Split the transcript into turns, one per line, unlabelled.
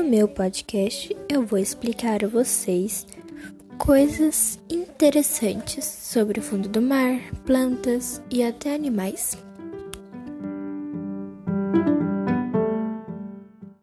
meu podcast eu vou explicar a vocês coisas interessantes sobre o fundo do mar, plantas e até animais.